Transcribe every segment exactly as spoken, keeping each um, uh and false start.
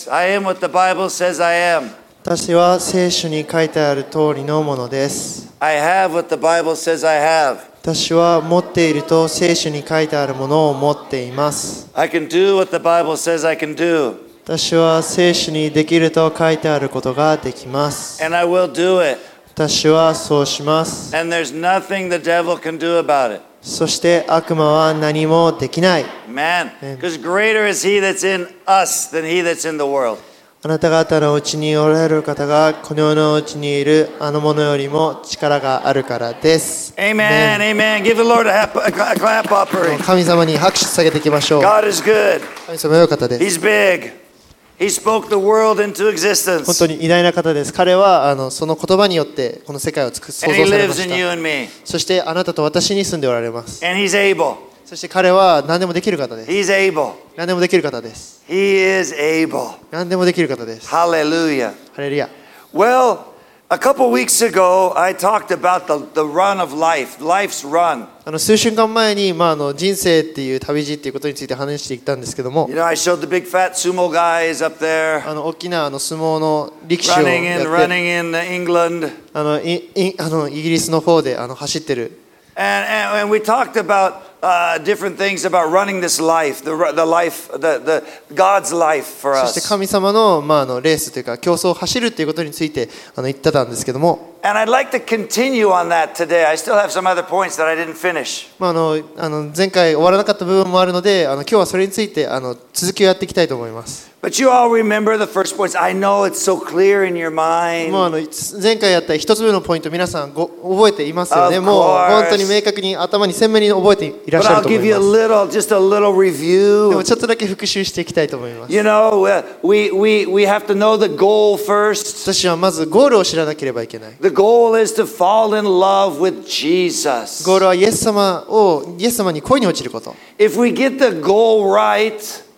I am what the Bible says I am. 私は聖書に書いてある通りのものです。 I have what the Bible says I have. 私は持っていると聖書に書いてあるものを持っています。 I can do what the Bible says I can do. 私は聖書にできると書いてあることができます。 And I will do it. 私はそうします。 And there's nothing the devil can do about it. そして悪魔は何もできない。 Man, because greater is he that's in us than he that's in the world. あなた方のうちにおられる方がこの世のうちにいるあの者よりも力があるからです。 Amen, amen. Give the Lord a, hap- a clap offering. 神様に拍手下げていきましょう。 God is good. 神様は良かったです。 He's big. He spoke the world into existence. 本当に偉大な方です。彼はあのその言葉によってこの世界を作創造 And he されま lives し in you た。 and me. そしてあなたと私に住んでおられます。 And he's able. そして彼は何でもできる方です。 He's able. 何でもできる方です。 He is able. 何でもできる方です。 Hallelujah. ハレルヤ。 Well, a couple weeks ago, I talked about the, the run of life, life's run. あの数週間前に、まあ、あの人生っていう旅路っていうことについて話していったんですけども、 You know, I showed the big fat sumo guys up there あの大きなあの相撲の力士を running や in, って running in England. あのいいあのイギリスの方であの走ってる。 And, and, and we talked about uh, different things about running this life, the, the life, the, the God's life for そして us. 神様の、まあ、あのレースというか競争を走るっていうことについてあの言ってたんですけども、 And I'd like to continue on that today. I still have some other points that I didn't finish. まあ、あのあの前回終わらなかった部分もあるので、あの今日はそれについてあの続きをやっていきたいと思います。 But you all remember the first points. I know it's so clear in your mind. もうあの前回やった一つ目のポイント皆さんご覚えていますよね。 Of もう course. 本当に明確に頭に鮮明に覚えていらっ But しゃる I'll と思 give い you a ます。 little, just a little で review. もちょっとだけ復習していきたいと思います。 You know, uh, we, we, we have to know the goal first. 私はまずゴールを知らなければいけない。 The goal is to fall in love with Jesus. ゴールはイエス様をイエス様に恋に落ちること。 If we get the goal right,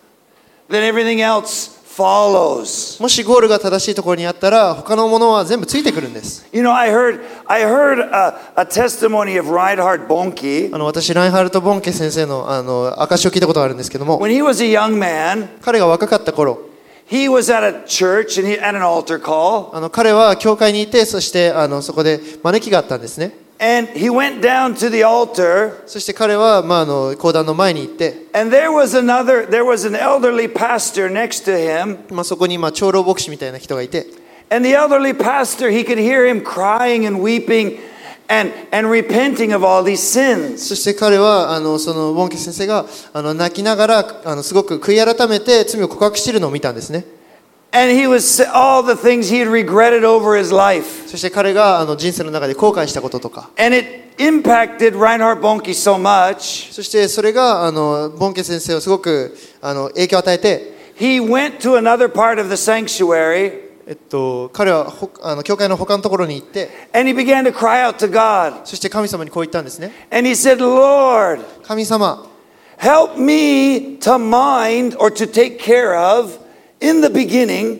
then everything else follows. もしゴールが正しいところにあったら他のものは全部ついてくるんです。 You know, I heard, I heard a, a testimony of Reinhard Bonnke. あの私ラインハルト・ボンケ先生のあの証を聞いたことがあるんですけども、 When he was a young man, 彼が若かった頃、 he was at a church and he, at an altar call. あの彼は教会にいて、そしてあのそこで招きがあったんですね。 And he went down to the altar. そして彼は、まあ、あの講談の前に行って、 And there was another, there was an elderly pastor next to him. まあ、そこに、まあ、長老牧師みたいな人がいて、 And the elderly pastor, he could hear him crying and weeping and, and repenting of all these sins. そして彼はあのそのボンケ先生があの泣きながらあのすごく悔い改めて罪を告白しているのを見たんですね。 And he was all the things he had regretted over his life. そして彼があの人生の中で後悔したこととか、 And it impacted Reinhard Bonnke so much. そしてそれがあのボンケ先生をすごくあの影響を与えて、 He went to another part of the sanctuary. えっと、彼はほあの教会の他のところに行って、 And he began to cry out to God. そして神様にこう言ったんですね。 And he said, Lord, 神様、 help me to mind or to take care of in the beginning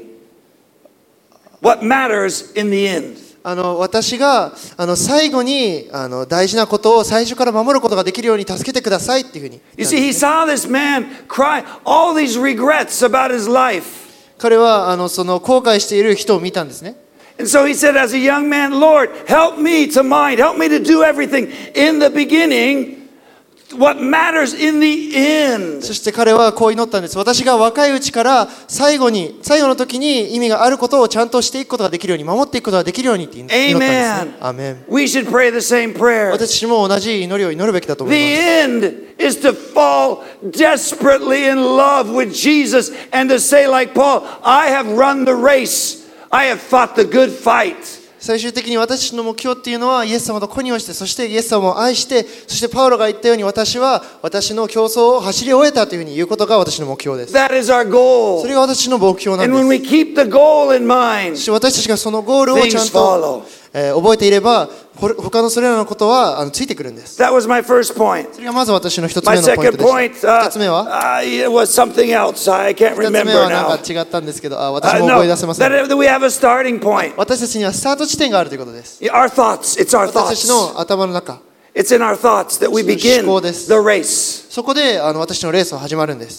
what matters in the end. あの私があの最後にあの大事なことを最初から守ることができるように助けてくださいっていうふうに You 言ったん see, で he すね。 saw this man cry all these regrets about his life. 彼はあのその後悔している人を見たんですね。 And so he said, as a young man, Lord, help me to mind, help me to do everything in the beginning, what matters in the end. そして彼はこう祈ったんです。私が若いうちから最後に最後の時に意味があることをちゃんとしていくことができるように、守っていくことができるようにって祈ったんですね。アーメン。 We should pray the same prayer. 私たちも同じ祈りを祈るべきだと思い The ます。 end is to fall desperately in love with Jesus and to say like Paul, I have run the race, I have fought the good fight. 最終的に私たちの目標っていうのはイエス様と恋に落ちて、そしてイエス様を愛して、そしてパウロが言ったように私は私の競争を走り終えたというふうに言うことが私の目標です。 That is our goal. それが私の目標なん And when で we す。 keep the goal in mind, そして私たちがそのゴールをちゃん things と、 follow. えー覚えていれば、これ他のそれらのことはあのついてくるんです。 That was my first point. それがまず私の一つ My 目のポイン second トで point した。 uh, 二つ目は uh, it was something else. I can't 二つ目 remember はなん now. か違ったんですけど、あ私 Uh, も no, 思い出せません。 that we have a starting point. 私たちにはスタート地点があるということです。 Our thoughts. It's our 私たち thoughts. の頭の中、 It's in our thoughts that we begin 思考です。 the race. そこであの私のレースは始まるんです。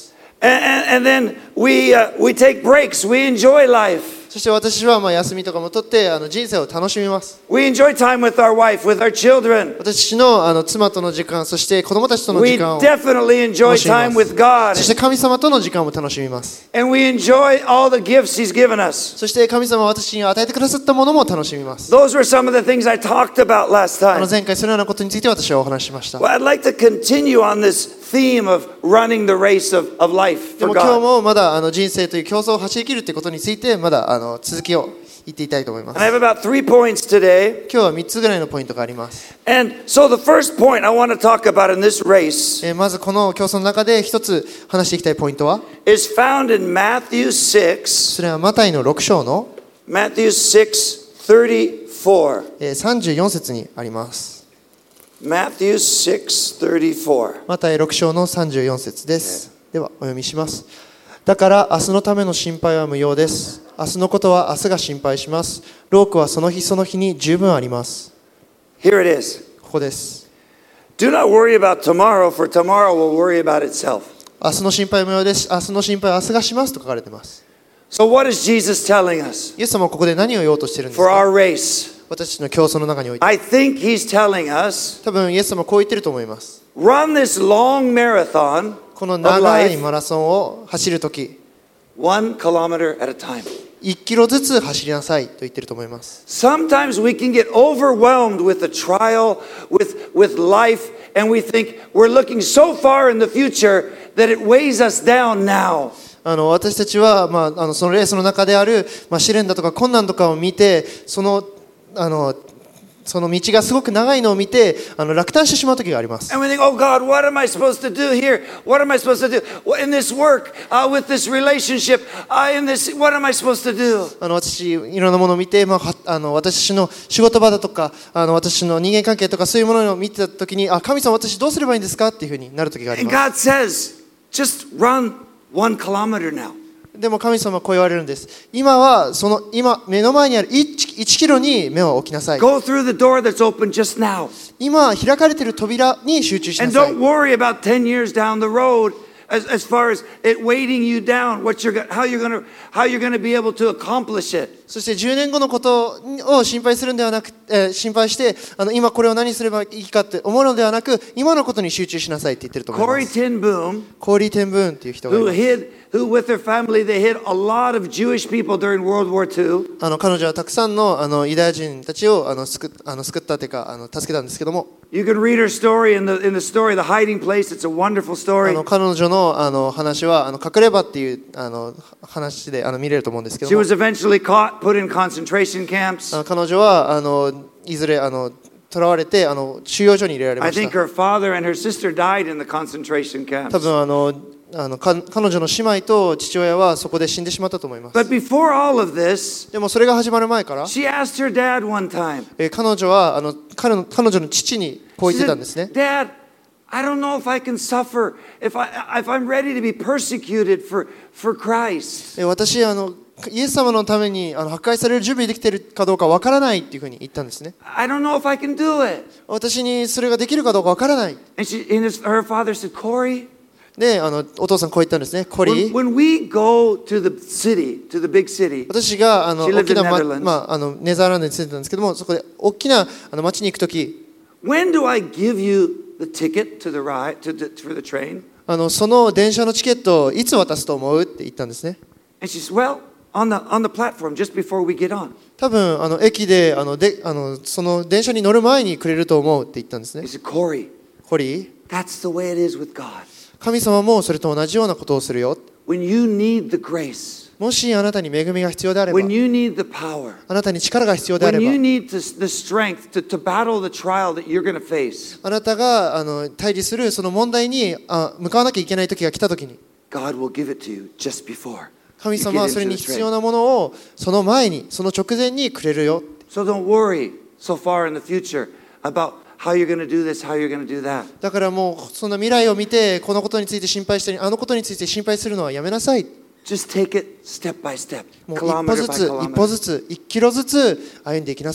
And, and, and then we, uh, we take breaks. We enjoy life. そして私はまあ休みとかも取ってあの人生を楽しみます。 We enjoy time with our wife, with our children. 私のあの妻との時間、そして子供たちとの We 時間を definitely enjoy 楽しみま time す。 with God. そして神様との時間も楽しみます。 And we enjoy all the gifts He's given us. そして神様は私に与えてくださったものも楽しみます。 Those were some of the things I talked about last あの time. 前回そのようなことについて私はお話ししました。 Well, I'd like to continue on this theme of running the race of, of life で for も今日 God. もまだあの人生という競争を走り切るということについてまだあの続きを言っていたいと思います。 And I have about three points today. 今日はみっつぐらいのポイントがあります。 And so the first point I want to talk about in this race えーまずこの競争の中で一つ話していきたいポイントは、 is found in Matthew six, それはマタイのろく章の Matthew six thirty-four. えーさんじゅうよん節にあります。 Matthew six thirty-four. マタイろく章のさんじゅうよん節です。ではお読みします。だから明日のための心配は無用です。明日のことは明日が心配します。労苦はその日その日に十分あります。 Here it is. ここです。 Do not worry about tomorrow, for tomorrow will worry about itself. 明日の心配は無用です。明日の心配は明日がしますと書かれています。 So what is Jesus telling us イエス様はここで何を言おうとしているんです for か？ our race? 私たちの競争の中において。 I think He's telling us, 多分イエス様はこう言ってると思います。 run this long marathon この of 長い life マラソンを走るとき、 one kilometer at a time. いちキロずつ走りなさいと言ってると思います。 Sometimes we can get overwhelmed with the trial, with, with life, and we think we're looking so far in the future that it weighs us down now. あの私たちは、まあ、あのそのレースの中である、まあ、試練だとか困難とかを見て、その、あのその道がすごく長いのを見てあの落胆してしまう時があります。 And we think, oh God, what am I supposed to do here? What am I supposed to do in this work, uh, with this relationship, uh, in this, what am I supposed to do? あの私いろんなものを見て、まあ、はあの私の仕事場だとかあの私の人間関係とかそういうものを見てた時に、あ、神様私どうすればいいんですかっていうふうになる時があり And ます。 God says, just run one kilometer now. でも神様はこう言われるんです。今はその今目の前にある 1, 1キロに目を置きなさい。 Go through the door that's open just now. 今開かれている扉に集中しな And さい。 don't worry about ten years down the road as, as far as it weighting you down, what you're, go- how you're going to how you're going to be able to accomplish it. そしてじゅうねんごのことを心配するんではなく、えー、心配してあの今これを何すればいいかって思うのではなく、今のことに集中しなさいって言ってると思いま Corey す。 ten Boom, コーリー・テンブーンっていう人がい who ます。 hid, who with their family, they hid a lot of Jewish people during World War Two. あの彼女はたくさんのあのユダヤ人たちをあの救っあの救ったというかあの助けたんですけども、 You can read her story in the in the story, The Hiding Place. It's a wonderful あ story. の彼女のあの話はあの隠れ場っていうあの話であの見れると思うんですけ She ども、 was eventually caught, put in concentration camps. あの彼女はあのいずれあの囚われてあの収容所に入れられ I まし think た。 her father and her sister died in the concentration 多 camps. 分あのあのか彼女の姉妹と父親はそこで死んでしまったと思います。 But before all of this, でもそれが始まる前から、 she asked her dad one time. えー彼女はあの彼の彼女の父にこう She 言ってた said, んですね。 Dad, I don't know if I can suffer, if, I, if I'm ready to be persecuted for, for Christ. えー私あのイエス様のためにあの迫害される準備できているかどうかわからないっていうふうに言ったんですね。 I don't know if I can do it. 私にそれができるかどうかわからない。 And, she, and his, her father said, Corey, であのお父さんこう言ったんですね。コ when, リー、 when we go to the city, to the big city, 私があの She lived 大きな、 in ま Netherlands. まあ、あのネザーランドに住んでたんですけども、そこで大きなあの町に行くとき、 when do I give you the ticket to the ride, to the, for the train? あのその電車のチケットをいつ渡すと思うって言ったんですね。 And she said, well, on the, on the platform just before we get on. 多分あの駅であのであのその電車に乗る前にくれると思うって言ったんです He ね。 said, Corey, コリー、 that's the way it is with God. 神様もそれと同じようなことをするよ。 When you need the grace, もしあなたに恵みが必要であれば、 when you need the power, あなたに力が必要であれ when ば、 you need to, the strength to, to battle the trial that you're going to face, あなたがあの対峙するその問題にあ向かわなきゃいけない時が来た時に、 God will give it to you just before 神 you 様は get それ into に the 必要 train. なものをその前に、その直前にくれるよ。 So don't worry so far in the future about how you're going to do this, how you're going to do that. だからもうそんな未来を見てこのことについて心配したり、あのことについて心配するのはやめなさい。 Just take it step by step, もう一歩 kilometer ず by つ、一歩 kilometer. ずつ、一キロずつ歩んでいきなさい。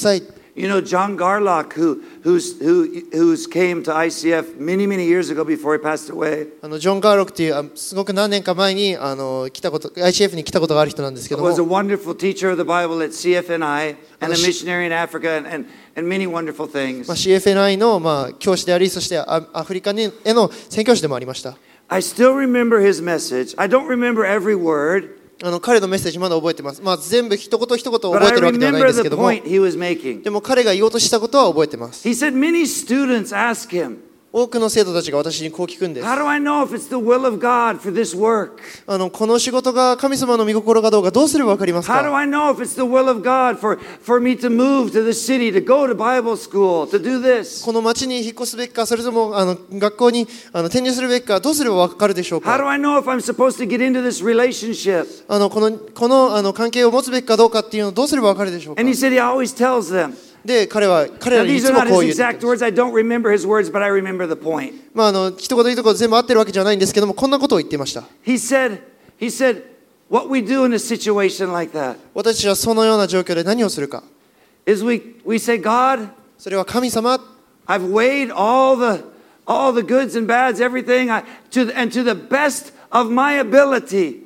You know, John Garlock, who, who's, who, who's came to I C F many, many years ago before he passed away. あのジョン・ガーロックっていうあすごく何年か前にあの来たこと アイシーエフ に来たことがある人なんですけども、 was a wonderful teacher of the Bible at C F N I and a missionary in Africa and, and, and many wonderful things. まあ、シーエフエヌアイ の、まあ、教師であり、そしてアアフリカにへの宣教師でもありました。 I still remember his message. I don't remember every word. あの彼のメッセージまだ覚えてます。まあ、全部一言一言 But 覚 I えてるわけではないん remember です the けども、 point he was making. でも彼が言おうとしたことは覚えてます。 He said many students ask him, 多くの生徒たちが私にこう聞くんです。 how do I know if it's the will of God for this work? あのこの仕事が神様の御心かどうかどうすればわかりますか？ How do I know if it's the will of God for, for me to move to the city, to go to Bible school, to do this? この町に引っ越すべきか、それともあの学校にあの転入するべきか、どうすればわかるでしょう How do か？ I know if I'm supposed to get into this relationship? あのこのこのあの関係を持つべきかどうかっていうのをどうすればわかるでしょうか？ And he said he always tells them. で彼は彼 Now, らにい these つ are も not こう his 言って exact words. I don't remember his words, but I remember the point. まああの一言一言全部合ってるわけじゃないんですけども、こんなことを言っていました。 He said, he said, what we do in a situation like that 私たちはそのような状況で何をするか。 is we, we say, God, それは神様、 I've weighed all the, all the goods and bads, everything, I, to, the- and to the best of my ability,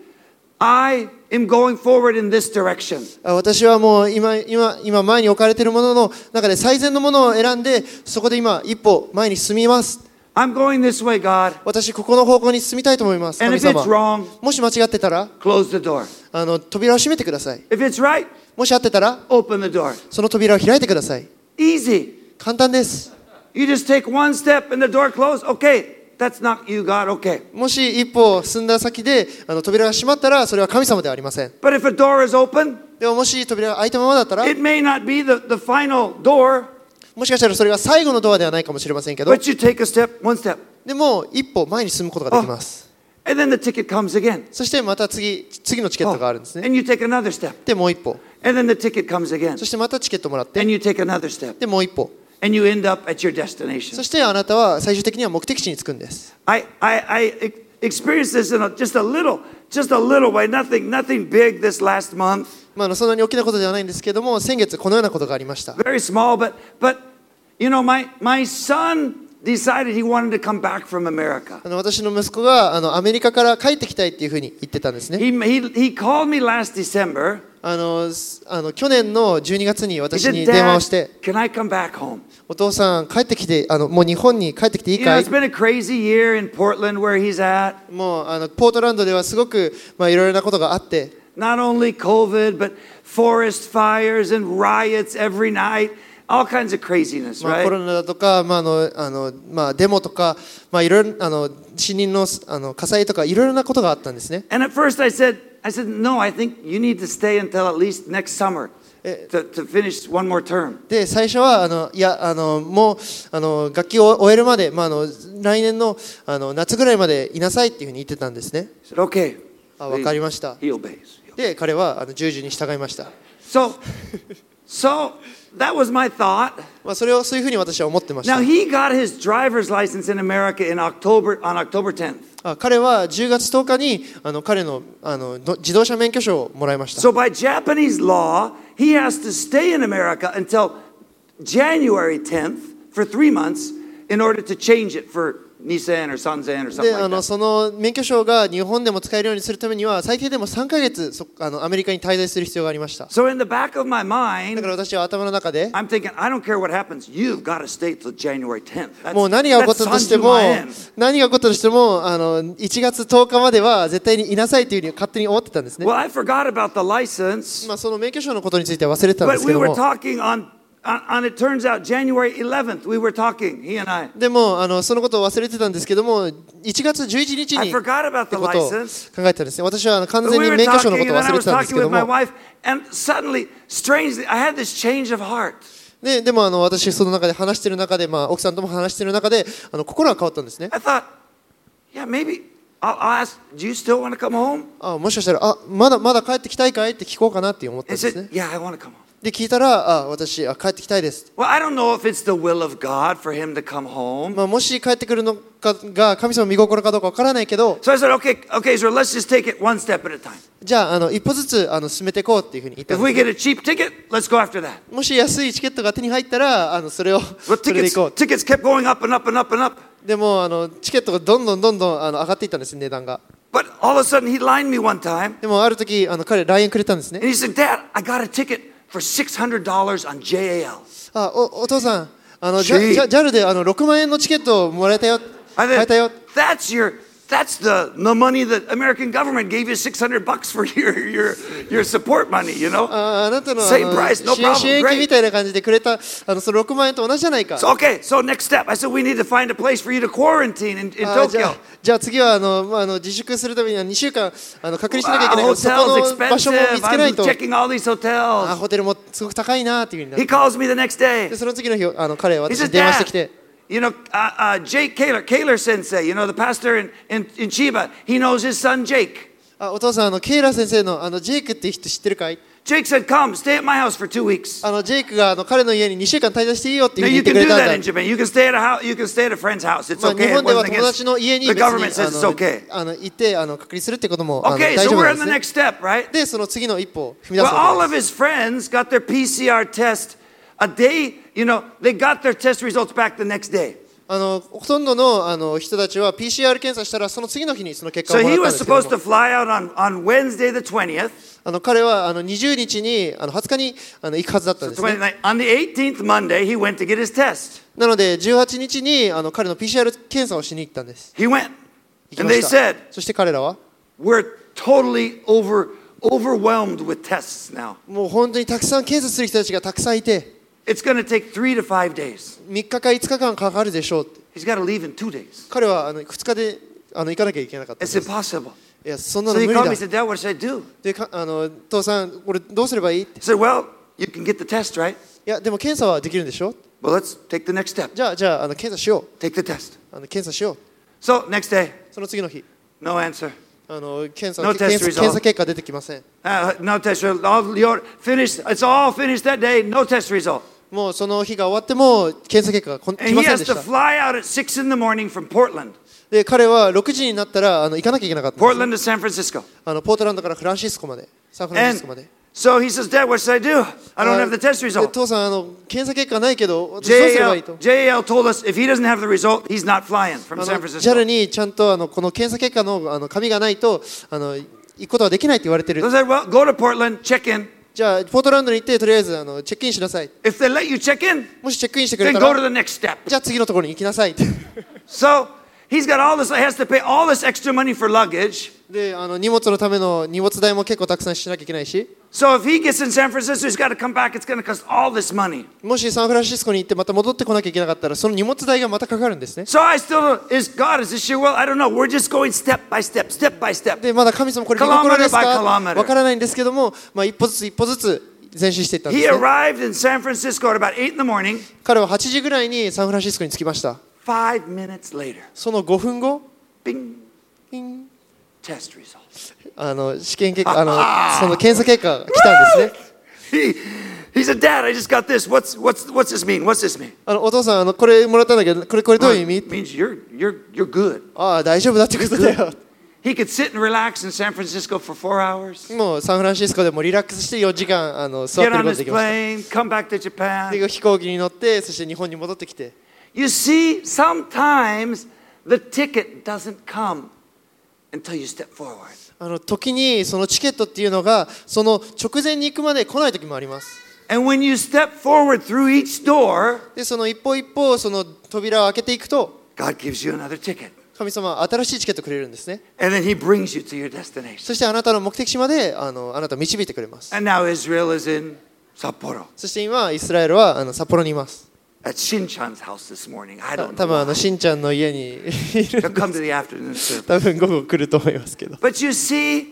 I am going forward in this direction. あ私はもう今今今前に置かれているものの中で最善のものを選んで、そこで今一歩前に進みます。 I'm going this way, God. 私ここの方向に進みたいと思います。 And 神 if it's 様、 wrong, もし間違ってたら close the door. あの扉を閉めてください。 If it's right, もし合ってたら open the door. その扉を開いてください。 Easy. 簡単です。 You just take one step and the door closed. Okay, that's not you, God. Okay. もし一歩進んだ先であの扉が閉まったら、それは神様ではありません。 But if a door is open, でももし扉が開いたままだったら、 it may not be the, the final door, もしかしたらそれが最後のドアではないかもしれませんけど、 but you take a step, one step. でも一歩前に進むことができます。 And then the ticket comes again. そしてまた次次のチケットがあるんですね。 And you take another step. でもう一歩、 And then the ticket comes again. そしてまたチケットもらって、 And you take another step. でもう一歩、 And you end up at your destination. そしてあなたは最終的には目的地に着くんです。 I, I, I ex- experienced this in a, just a little, just a little way, nothing, nothing big this last month. まあ、あのそんなに大きなことではないんですけども、先月このようなことがありました。 Very small, but, but you know, my, my son decided he wanted to come back from America. あの私の息子があのアメリカから帰ってきたいっていうふうに言ってたんですね。 He, he, he called me last December. あのすあの去年のじゅうにがつに He 私 said, に電話をし Dad, て、 can I come back home? お父さん帰ってきて、あのもう日本に帰ってきていい You know, かい？ it's been a crazy year in Portland where he's at. もうあのポートランドではすごくまあいろいろなことがあって、 Not only COVID, but forest fires and riots every night. All kinds of craziness, まあ、コ right? ロナだとか、まああのあのまあ、デモとか、まあ、いろいろあの森林のあの火災とかいろいろなことがあったんですね。 And at first I said, I said, no, I think you need to stay until at least next summer Eh. to, to finish one more term. で最初はあのいやあのもうあの学期を終えるまで、まあ、あの来年のあの夏ぐらいまでいなさいっていうふうに言ってたんですね。 I said, okay. あ、わかりました。 He obeys. で彼はあの従事に従いました。 So, so that was my thought. まあ、それをそういうふうに私は思ってました。 Now he got his driver's license in America in October on October tenth. あ彼はじゅうがつとおかにあの彼のあのの自動車免許証をもらいました。 So by Japanese law, he has to stay in America until January tenth for three months in order to change it for Nissan or Sanzen or something であ like の that. その免許証が日本でも使えるようにするためには最低でもさんかげつそあのアメリカに滞在する必要がありました。 So in the back of my だ mind, から私は頭の中で I'm thinking, I don't care what happens. You've got to stay till January tenth. That's, もう何が起こったとしても that's 何が起こったとしてもあのいちがつとおかまでは絶対にいなさいというふうに勝手に思ってたんですね。 Well, I forgot about the license, まあその免許証のことについては忘れてたんで but すけ we ど were も talking on, on, on it turns out January eleventh, we were talking, he and I. でもあのそのことを忘れてたんですけどもいちがつじゅういちにち I に forgot about って the ことを license. 考えてたんですね。私はあの完 But 全 we に were 免許証の talking, ことを and then 忘 I れて was たんです talking けど with my も wife, and suddenly, strangely, I had this change of heart. で, でもあの私その中で話している中で、まあ、奥さんとも話している中であの心が変わったんですね。 I thought, yeah, maybe I'll, I'll ask, do you still want to come home? あもしかしたらあまだまだ帰ってきたいかいって聞こうかなって思ったん And で he すね said,。yeah, I want to come home. で聞いたら、あ、私あ帰ってきたいです。 Well, I don't know if it's the will of God for him to come home. まあ、もし帰ってくるのかが神様の見心かどうかわからないけど、 So I said, okay, okay, so let's just take it one step at a time. じゃあ、あの一歩ずつあの進めていこうっていうふうに言ったん If で we す。 get a cheap ticket, let's go after that. もし安いチケットが手に入ったら、あのそれを But それで tickets, 行こう。 tickets kept going up and up and up and up. でもあのチケットがどんどんどんどんあの上がっていったんです、値段が。 But all of a sudden, he lined me one time, でもある時あの彼 ライン くれたんですね。 and he said, Dad, I got a ticket for six hundred dollars on J A L. あ、お、お父さん、あのジ Gee. ャジャ ジャル であのろくまんえんのチケットをもらえたよ。 I 買えた said, よ。 that's your, that's the, the money that American government gave you six hundred bucks for your, your, your support money, you know? あ、あなたのあ Same の price, no 支援支援 problem, 金み great. たいな感じでくれたあのそのろくまんえんと同じじゃないか。 So, okay, so next step. I said, we need to find a place for you to quarantine in, in あじゃ Tokyo. あ、じゃあ次はあの、まあ、あの自粛するためにはにしゅうかんあの隔離しなきゃいけない Wow, から、そこ hotels の場所も見 expensive. つけない I'm と。 checking all these あ、 hotels. ホテルもすごく高いなっていうふうになっ He て。 calls me the next で day. その次の日あの彼は He 私に says, 電話して Dad, きて、 you know, uh, uh, Jake Kaler, Kaler Sensei, you know, the pastor in, in, in Chiba, he knows his son Jake. あ、お父さん、あのケイラ先生のあのジェイクっていう人知ってるかい？ Jake said, come, stay at my house for two weeks. あのジェイクがあの彼の家ににしゅうかん滞在していいよっていう Now ふうに you 言って can く do れたん that だ in。Japan. You can stay at a house. You can stay at a friend's house. It's まあ、 okay. 日 It 本では wasn't 友達 against の家に the 別に government says あ it's の okay. あの行ってあの隔離するってこともあの Okay, 大 so 丈夫 we're な on ん the ですね。 next step, right? で、その次の一歩を踏み出 Well, す all わ of けです his friends got their P C R test a day. You know, they got their test results back the next day. あのほとんどのあの人たちは ピーシーアール 検査したらその次の日にその結果を So もら he ったん was ですけど supposed も to fly out on, on Wednesday the twentieth. あの彼はあのにじゅうにちにあのはつかにあの行くはずだったん So ですね。 twenty, on the eighteenth Monday, he went to get his test. なのでじゅうはちにちにあの彼の ピーシーアール 検査をしに行ったんです。 He went, 行き and ま they した。 said, そして彼らは "We're totally over overwhelmed with tests now. もう本当にたくさん検査する人たちがたくさんいて、 It's going to take three to five days. みっかかいつかかんかかるでしょうって。 He's got to leave in two days. 彼はあのふつかであの行かなきゃいけなかったん It's です。 impossible." いや、そんな So の he 無理 called だ me and。said, "Dad, what should I do?" でかあの父さん、これどうすればいいって。い I said, "Well, you can get the test, right? や、でも検査はできるんでしょ。 Well, let's take the next step. じゃあ、じゃあ、あの検査しよ Take the test." う。あの検査しよう。 So next day, その次の日、 no answer. あの検査 No 検 test 査 result. 検査結果出てきません。 Uh, no test result. All your finished. It's all finished that day. No test result. もうその日が終わっても検査結果がこん And 来 he ません has でし to た。 fly out at six in the morning from Portland. で、彼はろくじになったらあの行かなきゃいけなかったんです Portland to San Francisco. あのポートランドからフランシスコまで、サンフランシス And コまで。 so he says, "Dad, what should I do? I don't have the test で result." 父さんあの、検査結果ないけど、私どうすればいい JAL, と。 J A L told us if he doesn't have the result, he's not flying from あ San の Francisco. ジャル にちゃんとあのこの検査結果のあの紙がないとあの行くことはできないって言われてる So。I said, "Well, go to Portland, check in. じゃあ、ポートランドに行って、とりあえずあのチェックインしなさい。 If they let you check in, もしチェックインしてくれ then た go to ら、 the next step." じゃあ次のところに行きなさいって。 So he's got all this. He has to pay all this extra money for luggage. で、あの荷物のための荷物代も結構たくさんしなきゃいけないし、 So if he gets in San Francisco, he's got to come back. It's going to cost all this money. もしサンフランシスコに行ってまた戻ってこなきゃいけなかったら、その荷物代がまたかかるんですね。 So I still is God, is this your will? I don't know. We're just going step by step, step by step. で、まだ神様これ見心ですか Kilometer by kilometer. わからないんですけども、まあ、一歩ずつ一歩ずつ前進していったんで He すね。 arrived in San Francisco at about eight in the morning. 彼ははちじぐらいにサンフランシスコに着きました。 Five minutes later, そのごふんご、 bing, ピン test results. あの試験結果、あのその検査結果が来たんですね。 He, he said, "Dad, I just got this. What's what's what's this mean? What's this mean?" あのお父さんあのこれもらったんだけど、これこれどういう意味？ It means you're you're you're good. ああ大丈夫だってことだよ。 He could sit and relax in San Francisco for four hours. もうサンフランシスコでもリラックスしてよじかんあの座って Get る on ことが his できました。 plane, come back to Japan. で飛行機に乗ってそして日本に戻ってきて、 You see, sometimes the ticket doesn't come until you step forward. あの時にそのチケットっていうのがその直前に行くまで来ない時もあります。 And when you step forward through each door, でその一歩一歩その扉を開けていくと God gives you another ticket. 神様は新しいチケットをくれるんですね。 And then He brings you to your destination. そしてあなたの目的地まであのあなたを導いてくれます。 And now Israel is in Sapporo. そして今イスラエルはあの札幌にいます。 At Shin-chan's house this morning. I た don't 多分あ know. のしんちゃんの家にいる He'll come to the afternoon service. 多分午後来ると思いますけど。 But you see,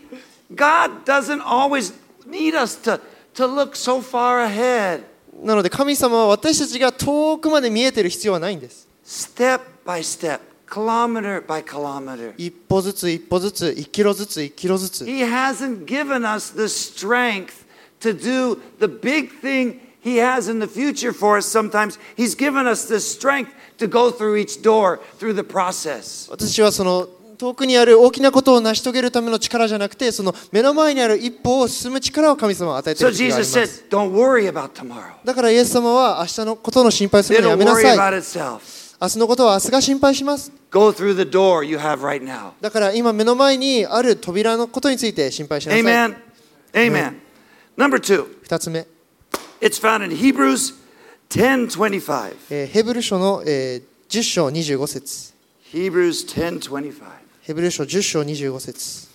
God doesn't always need us to, to look so far ahead. なので神様は私たちが遠くまで見えてる必要はないんです。 Step by step, kilometer by kilometer. 一歩ずつ一歩ずつ、一キロずつ一キロずつ。 He hasn't given us the strength to do the big thing He has in the future for us sometimes, He's given us the strength to go through each door, through the process. 私はその遠くにある大きなことを成し遂げるための力じゃなくて、その目の前にある一歩を進む力を神様は与えてい So る時があり Jesus ま said, す。 don't worry about tomorrow. だからイエス様は明日のことの心配するのや It'll めな worry さい。 about itself. 明日のことは明日が心配します。 Go through the door you have right now. だから今目の前にある扉のことについて心配しなさい。 Amen. Amen. Number two, 二つ目、 it's found in Hebrews ten twenty-five. えーヘブル書の、えー、じゅっ章にじゅうご節。 Hebrews ten twenty-five. ヘブル書じゅっ章にじゅうご節。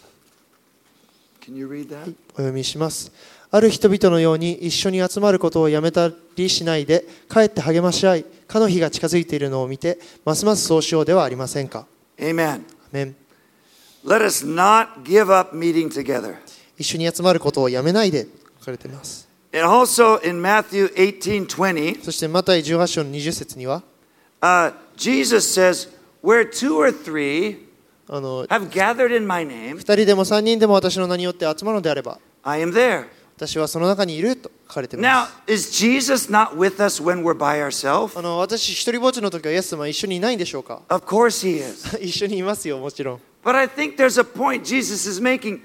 Can you read that? お読みします。ある人々のように一緒に集まることをやめたりしないで、かえって励まし合い、かの日が近づいているのを見て、ますますそうしようではありませんか。 Amen. アメン。 Let us not give up meeting together. 一緒に集まることをやめないで書かれています。 And also in Matthew eighteen twenty, そしてマタイじゅうはち章のにじゅう節には、 uh, Jesus says, where two or three あの have gathered in my name, 二人でも三人でも私の名によって集まるのであれば、 I am there. 私はその中にいると書かれてい Now, ます。 is Jesus not with us when we're by ourselves? あの私一人ぼっちの時はイエス様は一緒にいないんでしょうか。 Of course he is. 一緒にいますよ、もちろん。 But I think there's a point Jesus is making.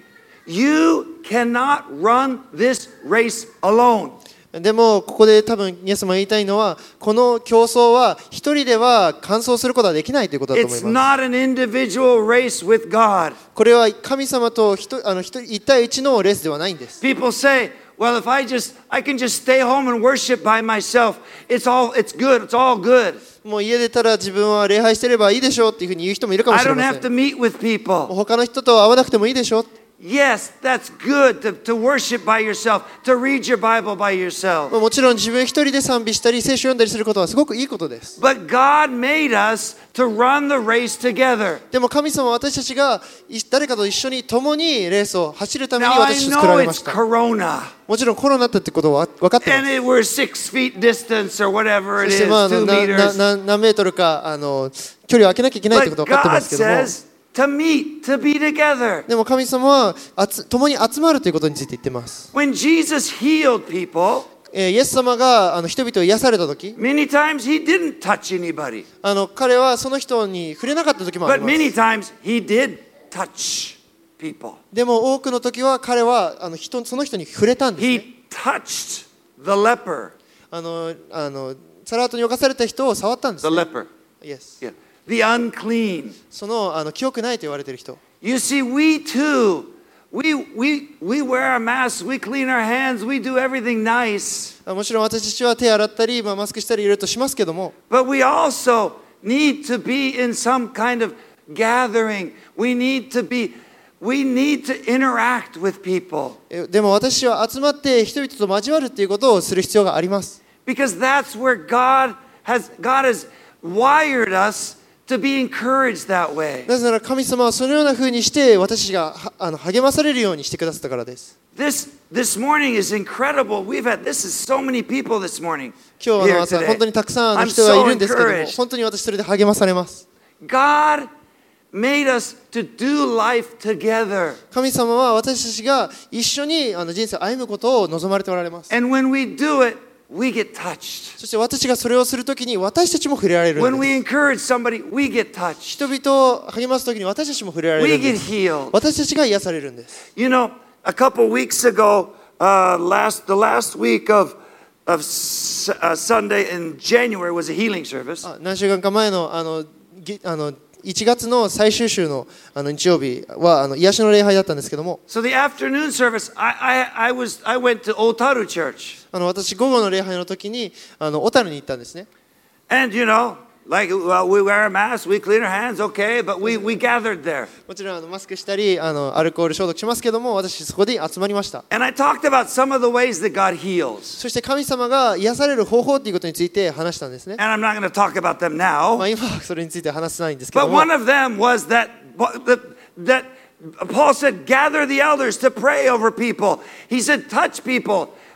You cannot run this race alone. でもここで多分イエス様が言いたいのは、この競争は一人では完走することはできないということだと思い It's ます。 not an individual race with God. これは神様と一あの一人一対一のレースではないんです。 People say, well, if I just, I can just stay home and worship by myself. It's all, it's good. It's all good. もう家出たら自分は礼拝してればいいでしょうっていうふうに言う人もいるかも I しれ don't ま have せ to ん。 meet with もう people. 他の人と会わなくてもいいでしょう。 Yes, that's good to, to worship by yourself, to read your Bible by yourself. もちろん自分一人で賛美したり聖書を読んだりすることはすごくいいことです。 But God made us to run the race together. でも神様は私たちがい誰かと一緒に共にレースを走るために Now I 私たちを作ら know れま it's した。 Corona. もちろんコロナだったってことは分かってま And す。 it, we're six feet distance or whatever そ it し is, てまああの two なな meters. な何メートルかあの距離を空けなきゃいけないって But ことは分かってま God すけども、 says to meet, to be together. でも神様はあつ共に集まるということについて言ってます。 When Jesus healed people, えーイエス様があの人々を癒された時、 many times he didn't touch anybody. あの彼はその人に触れなかった時もあ But ります。 many times he did touch people. でも多くの時は彼はあの人その人に触れたんです、ね。 He touched the leper. あのあのサラートに侵された人を触ったんです、 The ね。 leper. Yes. Yeah. The unclean. そのあの記憶ないと言われている人。 You see, we too, we, we, we wear a mask, we clean our hands, we do everything nice. あもちろん私たちは手洗ったり、まあ、マスクしたりいろいろとしますけども、 But we also need to be in some kind of gathering. We need to be, we need to interact with people. えでも私は集まって人々と交わるということをする必要があります。 Because that's where God has, God has wired us to be encouraged that way. なぜなら神様はそのような風にして私たちがはあの励まされるようにしてくださったからです。 This, this morning is incredible. We've had, this is so many people this morning 今日 here の朝 today. 本当にたくさんの I'm 人がい so るんですけども、 encouraged. 本当に私それで励まされます。 God made us to do life together. 神様は私たちが一緒にあの人生を歩むことを望まれておられます。 And when we do it, we get touched. そして私がそれをするときに私たちも触れられる When ん we です。 encourage somebody, we get touched. 人々を励ますときに私たちも触れられ We るんで get す。 healed. 私たちが癒されるんです。 You know, a couple weeks ago, uh, last the last week of of S- uh, Sunday in January was a healing service. あ何週間か前のあのぎあのいちがつの最終週のあの日曜日はあの癒しの礼拝だったんですけども、 So the afternoon service, I I, I was I went to Otaru Church, あの私午後の礼拝の時にあの小樽に行ったんですね。 and you know, like well, we wear a mask, we clean our hands, okay, but we we gathered there, もちろんあのマスクしたりあのアルコール消毒しますけども、私そこで集まりました。 and I talked about some of the ways that God heals, そして神様が癒される方法ということについて話したんですね。 and I'm not going to talk about them ま now, あ今はそれについては話せないんですけ but ども、 one of them was that that that Paul said, gather the elders to pray over people. He said, touch people.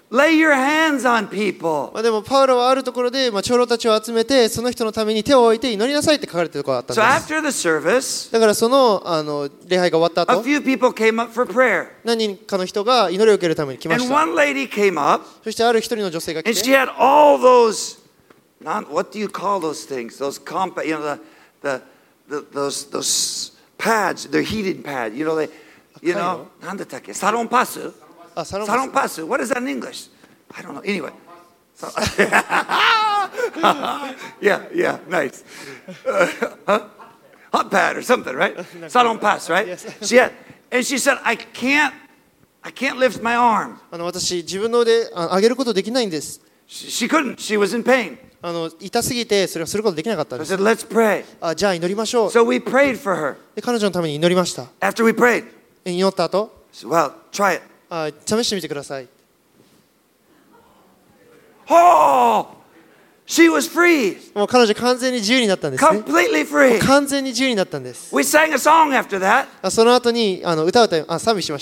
lay your hands on people. まあでもパウロはあるところで、まあ、長老たちを集めてその人のために手を置いて祈りなさいって書かれているところがあったん So です。 after the service, だからその、あの礼拝が終わった a 後、 few people came up for prayer. 何人かの人が祈りを受けるために来ま And した。 one lady came up, そしてある一人の女性が and 来 she て、 had all those, not, what do you call those things? Those compa, you know, the, the, the, those, those pads, they're heated pads, you know, they, you know, なんだったっけ? Salon pasu? あ、サロン Salon pasu. What is that in English? I don't know. Anyway. So- yeah, yeah, nice. Uh, huh? Hot pad or something, right? Salon pass, right? Yes. She had, and she said, I can't, I can't lift my arm. あの私自分の腕あ上げることできないんです。 She, she couldn't. She was in pain. あの痛すぎてそれをすることできなかったん I です。 said, let's pray. あ、じゃあ祈りましょう。 So we prayed for her. で彼女のために祈りました。 After we prayed, 祈った後、 she said, well, try it. あ、試してみてください。 Oh, she was free. もう彼女完全に自由になったんですね。 Completely free. 完全に自由になったんです。 We sang a song after that. あその後にあの歌を歌いあ賛美しました。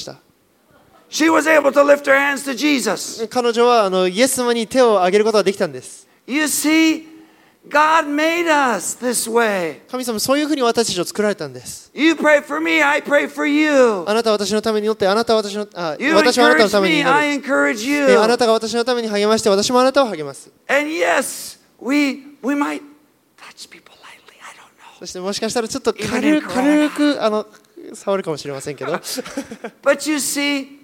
She was able to lift her hands to Jesus. 彼女はあのイエス様に手を挙げることができたんです。 You see, God made us this way. 神様そういうふうに私たちを作られたんです。 You pray for me, I pray for you. あなたは私のために祈って、あなたは私のあ You 私はあなたの encourage ために me, 祈 I る。 encourage であな you. たが私のために励まして、私もあなたを励ます。 And yes, we we might touch people lightly. I don't know. そしてもしかしたらちょっと Even 軽 in く Corona. 軽くあの触るかもしれませんけど But you see,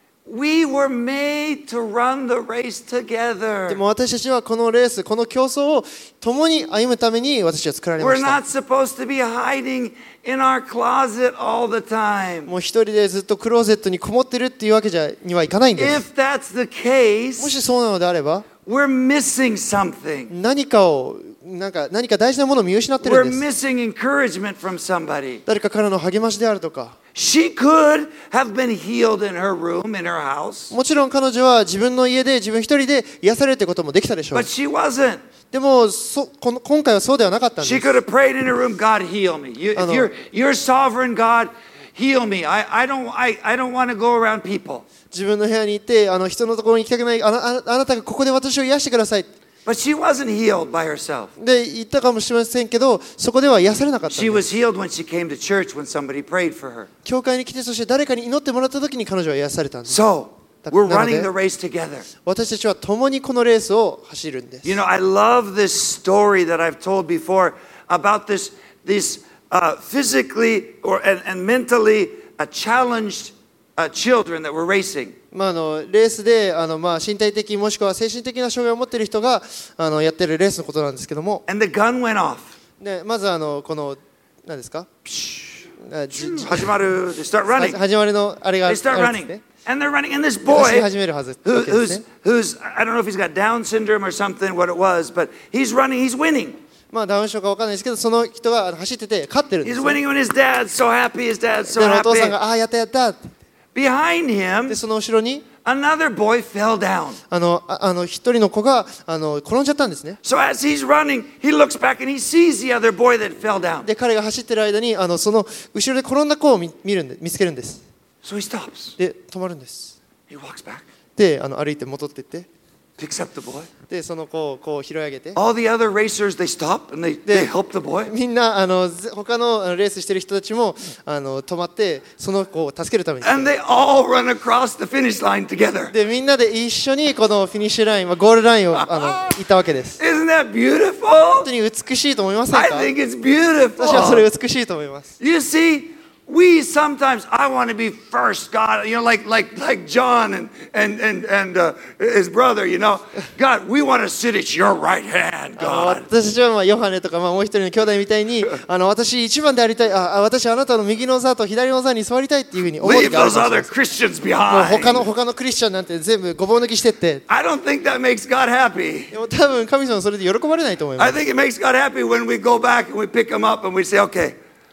we were made to run the race で together. も私たちはこのレース、この競争を共に歩むために私たちは作られま We're した。 not supposed to be hiding in our closet all the time. もう一人でずっとクローゼットにこもってるっていうわけじゃにはいかないんです。 If that's the も case, しそうなのであれば、 we're missing something. 何かをなんか何か大事なものを見失ってる We're んです。 missing encouragement from somebody. 誰かからの励ましであるとか、 She could have been healed in her room, in her house, もちろん彼女は自分の家で自分一人で癒されるってこともできたでしょう but。she wasn't. でもそこの今回はそうではなかったん She です。 could have prayed in her room, God heal me. You, if Ano. you're, you're sovereign, God heal me. I, I don't, I, I don't want to go around people. 自分の部屋に行ってあの人のところに行きたくないあなああなたがここで私を癒してください But she wasn't healed by herself. で言ったかもしれませんけど、そこでは癒されなかったん She です。 was healed when she came to church when somebody prayed for her. 教会に来て、そして誰かに祈ってもらった時に彼女は癒されたんです。 So, we're Nano running de. the race together. 私たちは共にこのレースを走るんです。 You know, I love this story that I've told before about this, these uh, physically or and, and mentally uh, challenged uh, children that were racing. まあ、あのレースであの、まあ、身体的もしくは精神的な障害を持っている人があのやってるレースのことなんですけども、 And the gun went off. でまずあのこの何ですかあじじ始まる They start running. は始まりのあれがあ They る start んです running. ね。 And they're running. And this 走り boy 始めるはず who, わけですね。 who's, who's, I don't know if he's got Down syndrome or something, what it was, but he's running, he's winning. まあダウン症かわかんないですけど、その人があの走ってて勝ってるんで He's す、 winning when his dad's so happy, his dad's so でお父さん happy. がああやったやったって Behind で him, その後ろに another boy fell down. あのああの一人の子があの転んじゃったんですね。 So as he's running, he looks back and he sees the other boy that fell down. で彼が走ってる間にあのその後ろで転んだ子を見見るんで見つけるんです。 So he stops. で止まるんです。 He walks back, であの歩いて戻っていって、 picks up the boy. でその子をこう拾い上げて、 All the other racers, they stop and they, they help the boy. みんなあのぜ他のあのレースしてる人たちもあの止まってその子を助けるために。 And they all run across the finish line together. でみんなで一緒にこのフィニッシュライン、まあ、ゴールラインをあの行ったわけです。 Isn't that 本 beautiful? 当に美しいと思いません I か？ think it's 私はそれ beautiful. 美しいと思います。 You see, we sometimes I want to be first, God. You know, like like like John and and and and uh, his brother. You know, God, we want to sit at your right hand, あの God. 私たちはまあヨハネとかまあもう一人の兄弟みたいにあの私一番でありたい、ああ私あなたの右の座と左の座に座りたいっていうふうに思う Leave 時がある those かもしれ other ません。 Christians もう他 behind. の他のクリスチャンなんて全部ごぼう抜きしてって、 I don't think that makes God happy. でも多分神様はそれで喜ばれないと思いま I す。 think it makes God happy when we go back and we pick them up and we say, okay,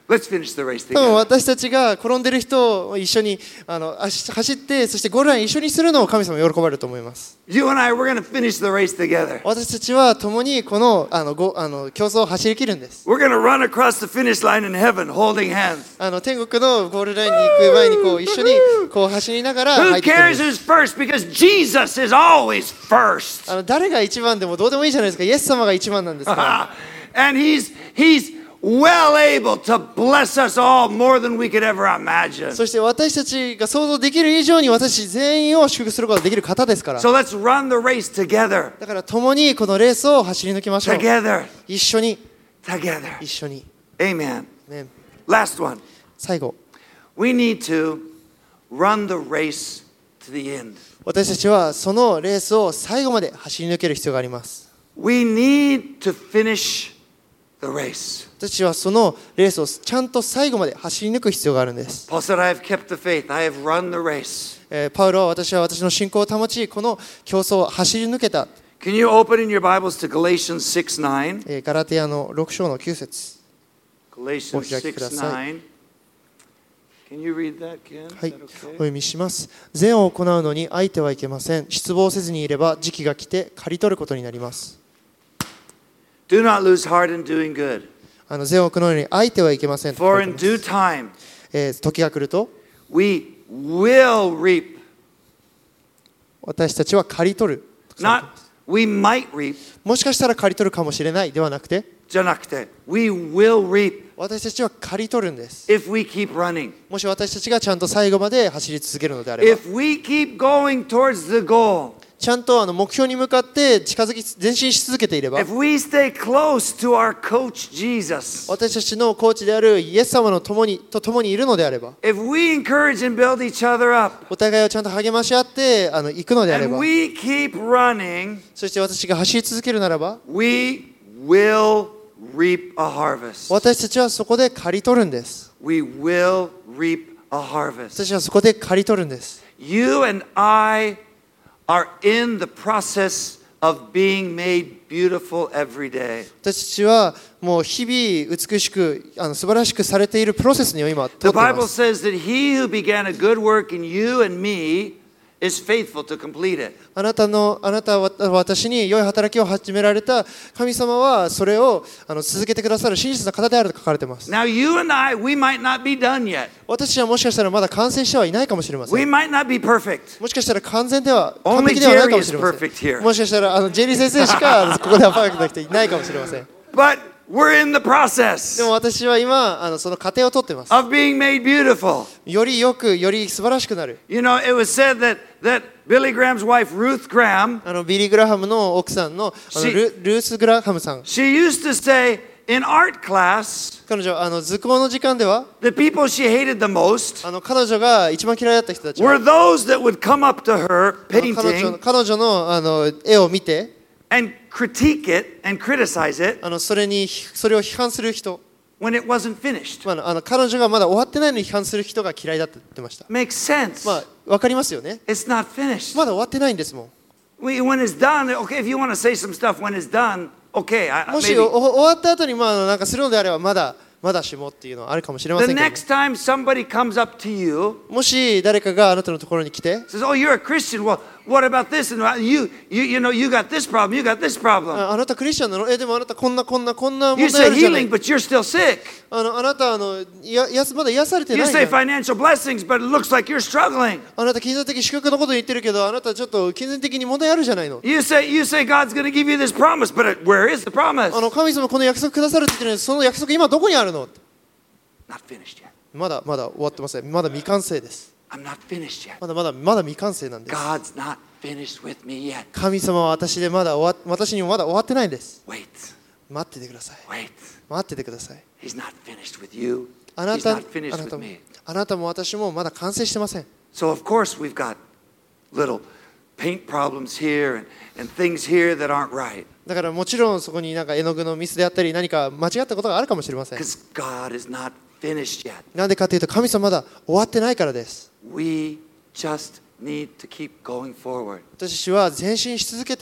Let's finish the race 多分 together. 私たちが転んでる人を一緒にあの走走って、そしてゴールライン一緒にするのを神様喜ばれると思います。 You and I, we're going to finish the race together. 私たちは共にこのあのごあの競争を走り切るんです。 We're going to run across the finish line in heaven holding hands. あの天国のゴールラインに行く前にこう一緒にこう走りながら入 Who ってくるん cares です。 who's first? Because Jesus is always first. あの誰が一番でもどうでもいいじゃないですか。イエス様が一番なんですから。 And he's he's well able to bless us all more than we could ever imagine. そして私たちが想像できる以上に私全員を祝福することができる方ですから。 So let's run the race together. だから共にこのレースを走り抜きましょう。 Together. 一緒に Together. 一緒に。 Amen. ね、 Last one. 最後、 We need to run the race to the end. 私たちはそのレースを最後まで走り抜ける必要があります。 We need to finish the race. 私たちはそのレースをちゃんと最後まで走り抜く必要があるんです。 Paul said, I have kept the faith. I have run the race. えーパウロは私は私の信仰を保ち、この競争を走り抜けた。 Can you open in your Bibles to Galatians six nine? えーガラテヤのろく章のきゅう節。 Galatians お開きくだ six さい。 nine. Can you read that, Ken? Is はい、 that お okay? 読みします。善を行うのに相手はいけません。失望せずにいれば時期が来て刈り取ることになります。 Do not lose heart in doing good. あの善を行うのに相手はいけませんと書 For いて in ます。 due time えー時が来ると we will reap. 私たちは刈り取る。 Not we might reap. もしかしたら刈り取るかもしれないではなくて、 じゃなくて we will reap 私たちは刈り取るんです。 if we keep running. もし私たちがちゃんと最後まで走り続けるのであれば、 If we keep going towards the goal. ちゃんとあの目標に向かって近づき前進し続けていれば、 If we stay close to our coach Jesus. 私たちのコーチであるイエス様の共にと共にいるのであれば、 If we encourage and build each other up. お互いをちゃんと励まし合ってあの行くのであれ And ば、 we keep running. そして私が走り続けるならば、 We will reap a harvest. 私たちはそこで刈り取るんです。 We will reap a harvest. 私たちはそこで刈り取るんです。 You and I are in the process of being made beautiful every day. 私たちはもう日々美しくあの素晴らしくされているプロセスに今通って The いま Bible す。 says that he who began a good work in you and me is faithful to complete it. あなたのあなたは私に良い働きを始められた神様はそれをあの続けてくださる真実な方であると書かれています。 Now you and I, we might not be done yet. 私たちはもしかしたらまだ完成してはいないかもしれませ We ん。 might not be perfect. もしかしたら完全では完 Only 璧ではないか Jerry もし is れませ perfect here. ん。もしかしたらあのジェリー先生しかここではパーフェクトな人いないかもしれません。 But we're in the で process も私は今あのその過程をとっています。 of being made beautiful. よりよくより素晴らしくなる。 You know, it was said that, that Billy Graham's wife, Ruth Graham, あのビリー・グラハムの奥さんのあの She- ルルース・グラハムさん、 she used to say in art class, 彼女あの図工の時間では the people she hated the most あの彼女が一番嫌いだった人たち were は those that would come up to her あの彼女 painting 彼女のあの絵を見て and critique it and criticize it あのそれにそれを批判する人、 when it wasn't finished. まあ、あの彼女がまだ終わってないのに批判する人が嫌いだって言ってました。 Makes sense. まあわかりますよね。 It's not finished. まだ終わってないんですもん。 We, when it's done, okay, if you want to say some stuff when it's done, okay, I, もし maybe. お終わった後にまああのなんかするのであればまだまだしもっていうのはあるかもしれませ The んけども、 next time somebody comes up to you, もし誰かがあなたのところに来て says, "Oh, you're a Christian. Well, what about this? And you, you, you know, you got this problem. You got this problem. ああなたクリスチャンなの？えでもあなたこんなこんなこんな You 問題あ say るじゃない healing, but you're still sick. あのあなたあのややすまだ癒されて You ないじ say ゃん。 financial blessings, but it looks like you're struggling. あなた金銭的祝福のこと言ってるけどあなたちょっと金銭的に問題あるじゃないの。 You say, you say God's going to give you this promise, but it, where is the promise? あの神様この約束くださるって言ってるのにその約束今どこにあるの？ Not finished yet. まだまだ終わってません。まだ未完成です。 I'm not finished yet. まだまだまだ未完成なんです。 God's not finished with me yet. 神様は私でまだ終わ私にもまだ終わってないんです。 Wait, 待っててください。 wait. 待っててください。 He's not finished with you. あな He's た not finished あな with たも me. あなたも私もまだ完成してません。 So of course we've got little paint problems here and, and things here that aren't right. だからもちろんそこになんか絵の具のミスであったり何か間違ったことがあるかもしれません。 Because God is not finished yet. なんでかというと神様まだ終わってないからです。 We just need to keep going forward. 私たちは前進し続けて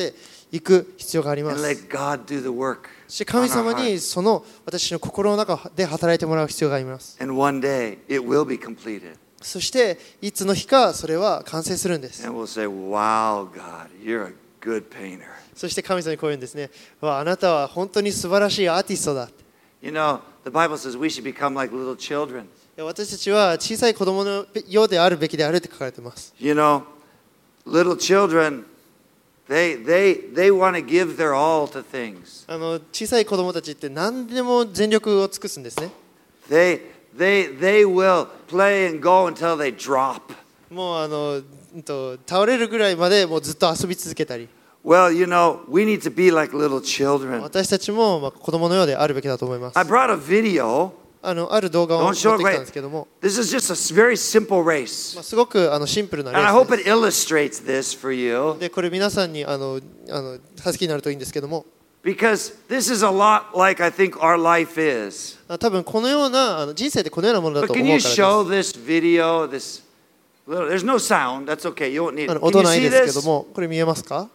行く必要がありま and す。 let God do the work そして神 on our 様に hearts. その私の心の中で働いてもらう必要があります。 And one day it will be completed. そしていつの日かそれは完成するんです。 And we'll say, wow, God, you're a good painter. そして神様にこう言うんですね。わあなたは本当に素晴らしいアーティストだ。 You know, the Bible says we should become like little children. 私たちは小さい子供のようであるべきであるって書かれています。 You know, little children, they, they, they want to give their all to things. あの小さい子供たちって何でも全力を尽くすんですね。 They, they, they will play and go until they drop. もうあのうんと倒れるぐらいまでもうずっと遊び続けたり。 Well, you know, we need to be like little children. 私たちもまあ子供のようであるべきだと思います。 I brought a video. あのある動画を持 Don't って show き it たんですけども、 This is just a very simple race. まあ、すごくあのシンプルなレ And I ー hope ス it illustrates this for you. で、これ皆さんにあのあの助けになるといいんですけども、 Because this is a lot like I think our life is. あ多分このようなあの人生ってこのようなものだ But と can 思 you うから show で this video, this little, there's no sound, that's okay, you won't need す。あ it. の Can 音 you ない see ですけど this? も、これ見えますか？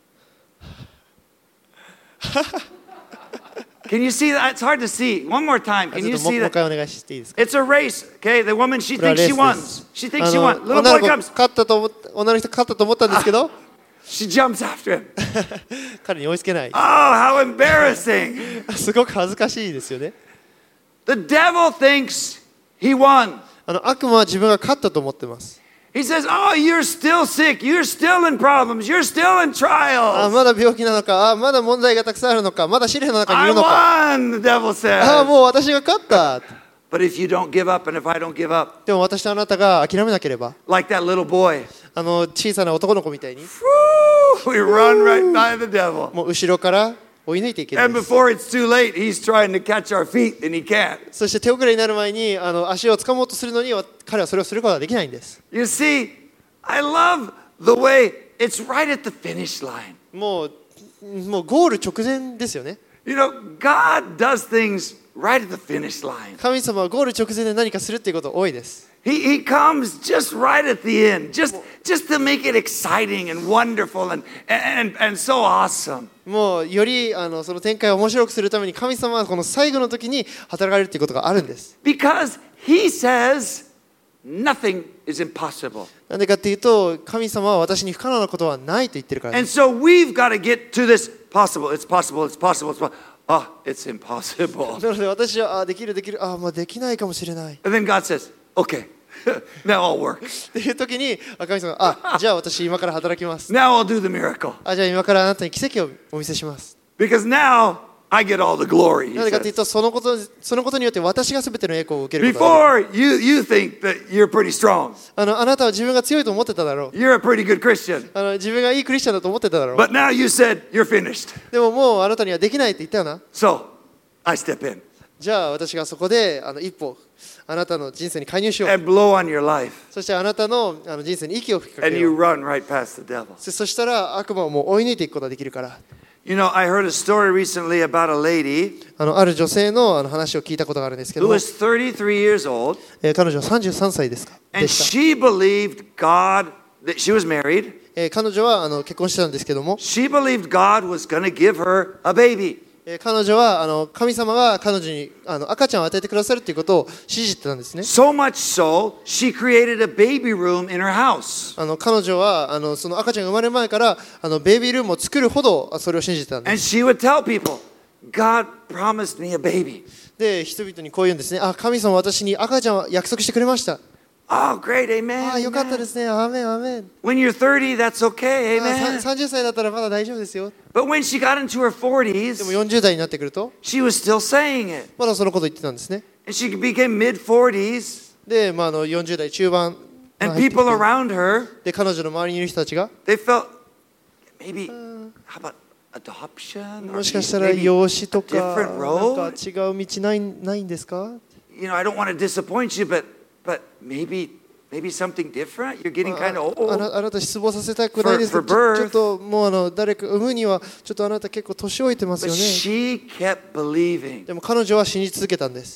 Can you see that? It's hard to see. One more time, あ can ちょ you っとも see もう一 that? 回お願いしていいですか？ It's a race, okay? The woman, she これは thinks レー she ス won. です。 She あ thinks she の won. Little 女 boy の子 comes. 勝ったと思っ女の人勝ったと思ったんですけど、 She jumps after him. 彼に追いつけない。 Oh, how embarrassing. すごく恥ずかしいですよね。 The devil thinks he won. あの悪魔は自分が勝ったと思ってます。 He says, oh, you're still sick. You're still in problems. You're still in あ trials. まだ病気なのか、あまだ問題がたくさんあるのか、まだ試練の中にい I るのか。 won, the devil あ says. もう私が勝った。 But if you don't give up and if I don't give up, でも私とあなたが諦めなければ、 like that little boy, あの小さな男の子みたいに、 whoo, we run right by the devil. もう後ろから追い抜いていけるん And です。 before it's too late, he's trying to catch our feet and he can't. そして手遅れになる前にあの足を掴もうとするのに彼はそれをすることができないんです。 You see, I love the way it's right at the finish line. もうもうゴール直前ですよね。 You know, God does things right at the finish line. 神様はゴール直前で何かするっていうこと多いです。 He, he comes just right at the end, just, just to make it exciting and wonderful and, and, and so awesome. もうよりあのその展開を面白くするために神様はこの最後の時に働かれるっていうことがあるんです。 Because he says nothing is impossible. なんでかっていうと神様は私に不可能なことはないと言ってるからで And す。 so we've got to get to this possible, it's possible, it's possible, it's possible. Oh, it's impossible. なので私はあできるできるあまあできないかもしれない。 And then God says, okay, now I'll work. っていう時にあ神様があじゃあ私今から働きます。 Now I'll do the miracle. あじゃあ今からあなたに奇跡をお見せします。 Because now I get all the glory. な He ぜかという says. とそのことそのことによって私が全ての栄光を受けることができる。 Before you, you think that you're pretty strong. あのあなたは自分が強いと思ってただろう。 You're a pretty good Christian. あの自分がいいクリスチャンだと思ってただろう。 But now you said you're finished. でももうあなたにはできないって言ったよな。 So I step in じゃあ私がそこであの一歩あなたの人生に介入しよう。 and blow on your life. そしてあなたのあの人生に息を吹きか And け you よう。 run right past the devil. そそしたら悪魔をもう追い抜いていくことができるから。 You know, I heard a story recently about a lady あのある女性のあの話を聞いたことがあるんですけど who も、 was thirty-three years old. えー彼女はさんじゅうさんさいですか And でした。 she believed God, that she was married. えー彼女はあの結婚してたんですけども、 She believed God was going to give her a baby. えー彼女はあの神様が彼女にあの赤ちゃんを与えてくださるということを信じてたんですね。 So much so, she created a baby room in her house. あの彼女はあのその赤ちゃんが生まれる前からあのベイビールームを作るほどそれを信じてたんで And す。 she would tell people, God promised me a baby. で人々にこう言うんですね。あ神様は私に赤ちゃんを約束してくれました。 Oh, great, あ amen. よかったですね。アーメンアーメン。 When you're thirty, that's okay, あさ amen. さんじゅっさいだったらまだ大丈夫ですよ。 But when she got into her でも forties, よんじゅう代になってくると she was still saying it. まだそのこと言ってたんですね。 And she became mid forties, で、まあ、あのよんじゅう代中盤 and 入ってきて people around her, で彼女の周りにいる人たちが they felt maybe, how about adoption? も Or しかしたら maybe 養子と a か different なんか road? 違う道ないないんですか？ You know, I don't want to disappoint you, but but maybe maybe something different. You're getting あ kind of あ old. なあなた失望させたくないですけ For- ど for ちょ birth. ちょっともうあの誰か産むにはちょっとあなた結構年老いてます But よね。 she kept believing. でも彼女は信じ続けたんです。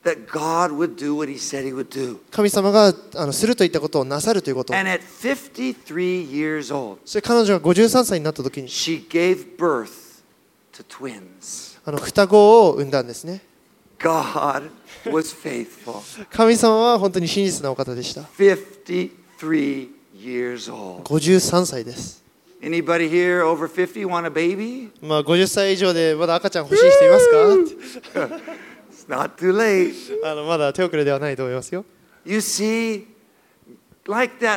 that God would do what He said He would do. 神様があのするといったことをなさるということ。 And at fifty-three years old, それ彼女がごじゅうさんさいになった時に she gave birth to twins. あの双子を産んだんですね。 God was faithful. 神様は本当に真実なお方でした。 fifty-three years old. ごじゅうさんさいです。 Anybody here over fifty want a baby? まあごじゅっさい以上でまだ赤ちゃん欲しい人いますか？ It's not too late. あのまだ手遅れではないと思いますよ。 You see, like that,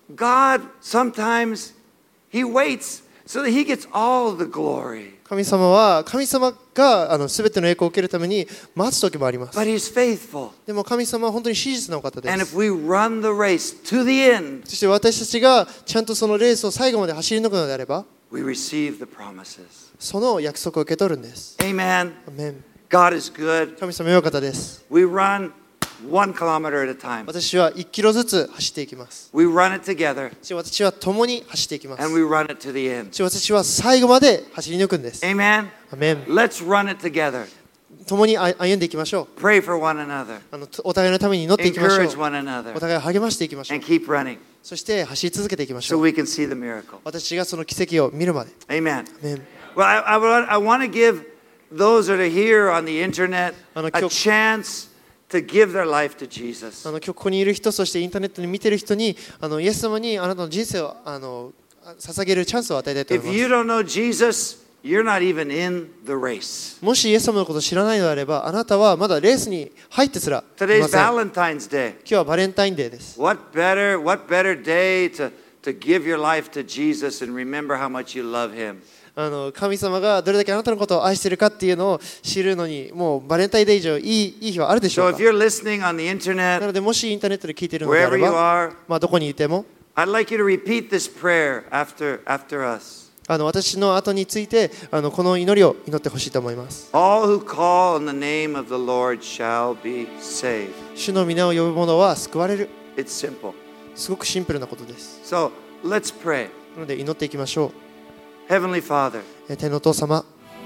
God sometimes He waits so that He gets all the glory. 神様は神様があの全ての栄光を受けるために待つ時もあります。 But He's faithful. でも神様は本当に真実なお方で And す。 if we run the race to the end, そして私たちがちゃんとそのレースを最後まで走り抜くのであれば、 we receive the promises. その約束を受け取るんです。 Amen. アメン。 God is good. 神様良いお方です。 We run one kilometer at a time. 私はいちキロずつ走っていきます。 We run it together そして私は共に走っていきます。 and we run it to the end. そして私は最後まで走り抜くんです。 Amen. アメン。 Let's run it together. 共に歩んでいきましょう。 Pray for one another. あのお互いのために祈っていきましょ Encourage う。 one お another 互いを励ましていきましょう and。keep running そして走り続けていきまし so ょう。 we can see the miracle. 私がその奇跡を見るまで。 Amen. アメン。 Well, I, I, want- I want to give those that are here on the internet あの、 a 今日- chance to give their life to Jesus. あの今日ここにいる人、そしてインターネットに見ている人に、あのイエス様にあなたの人生をあの捧げるチャンスを与えたいと If 思い you ま don't know Jesus, you're not even in the race. す。もしイエス様のことを知らないのであれば、あなたはまだレースに入ってすらい Today's ません。今 Valentine's Day. 日はバレンタインデーです。 What better, what better day to, to give your life to Jesus and remember how much you love Him. あの神様がどれだけあなたのことを愛しているかっていうのを知るのに、もうバレンタインデー以上いい、いい日はあるでしょ So う if か。 you're listening on the な internet, ので、もしインターネットで聞いているのであ wherever れ you ば、 are, まあ、どこにいても、 I'd like you to repeat this prayer after, after us. あの私の後についてあのこの祈りを祈ってほしいと思います。 All who call on the name of the Lord shall be saved. 主の皆を呼ぶ者は救われる。 It's simple. すごくシンプルなことです。 So let's pray. なので祈っていきましょう。 Heavenly Father, え天のお父様、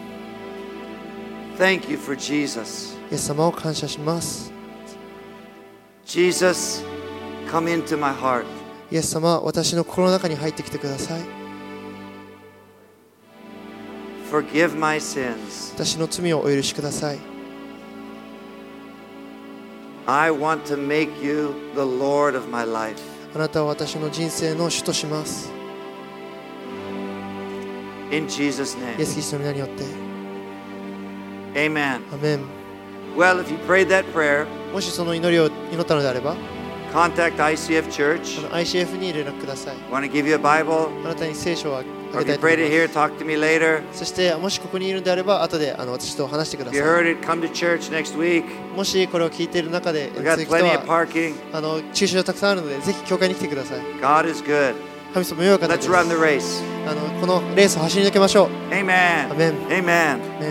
thank you for Jesus. イエス様を感謝します。 Jesus, come into my heart. イエス様、私の心の中に入ってきてください。 Forgive my sins. 私の罪をお許しください。 I want to make you the Lord of my life. あなたは私の人生の主とします。 In Jesus' イエ name. ス・キリストの皆によって。 Amen. アメン。 Well, if you prayed that prayer, もしその祈りを祈ったのであれば、 contact I C F あ Church. の アイシーエフ に連絡ください。 Want to give you a Bible? あなたに聖書をあ Or げ if た you いと思 prayed い it ま here, talk to me later. す。そしてもしここにいるのであれば、後であの私と話してくだ If you さい。 heard it, come to church next week. もしこれを聞いている中で、 We got 続く人 plenty of は parking. あの駐車場たくさんあるので、ぜひ教会に来てください。 God is good. 神様よいお方で Let's す。 run the race. あのこのレースを走り抜けましょう。 Amen. Amen. Amen.